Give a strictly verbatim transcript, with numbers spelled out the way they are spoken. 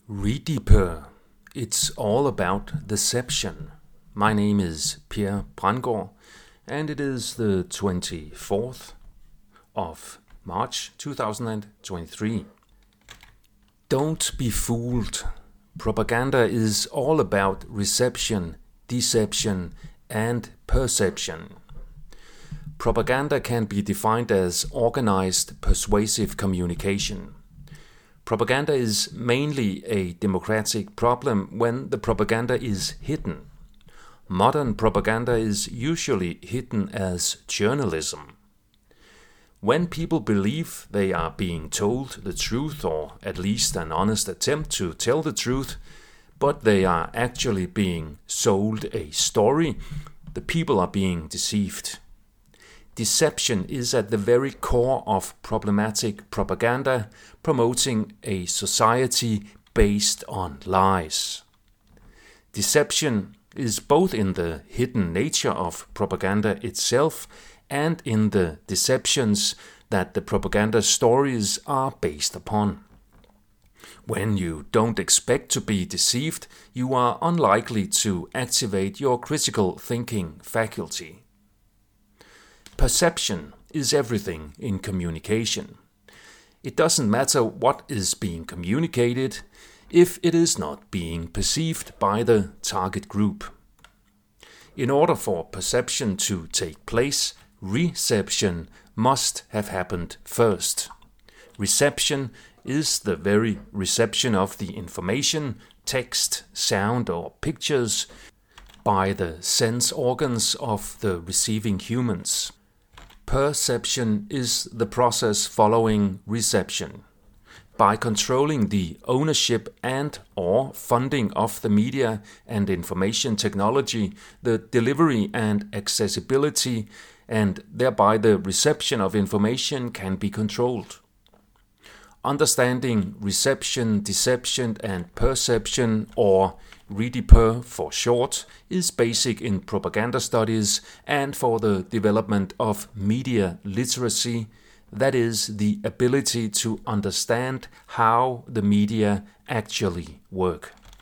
Redeeper. It's all about deception. My name is Per Brandgaard, and it is the twenty-fourth of March two thousand twenty-three. Don't be fooled. Propaganda is all about reception, deception, and perception. Propaganda can be defined as organized, persuasive communication. Propaganda is mainly a democratic problem when the propaganda is hidden. Modern propaganda is usually hidden as journalism. When people believe they are being told the truth, or at least an honest attempt to tell the truth, but they are actually being sold a story, the people are being deceived. Deception is at the very core of problematic propaganda, promoting a society based on lies. Deception is both in the hidden nature of propaganda itself and in the deceptions that the propaganda stories are based upon. When you don't expect to be deceived, you are unlikely to activate your critical thinking faculty. Perception is everything in communication. It doesn't matter what is being communicated if it is not being perceived by the target group. In order for perception to take place, reception must have happened first. Reception is the very reception of the information, text, sound, or pictures by the sense organs of the receiving humans. Perception is the process following reception. By controlling the ownership and or funding of the media and information technology, the delivery and accessibility, and thereby the reception of information can be controlled. Understanding reception, deception, and perception, or Redeeper for short, is basic in propaganda studies and for the development of media literacy, that is, the ability to understand how the media actually work.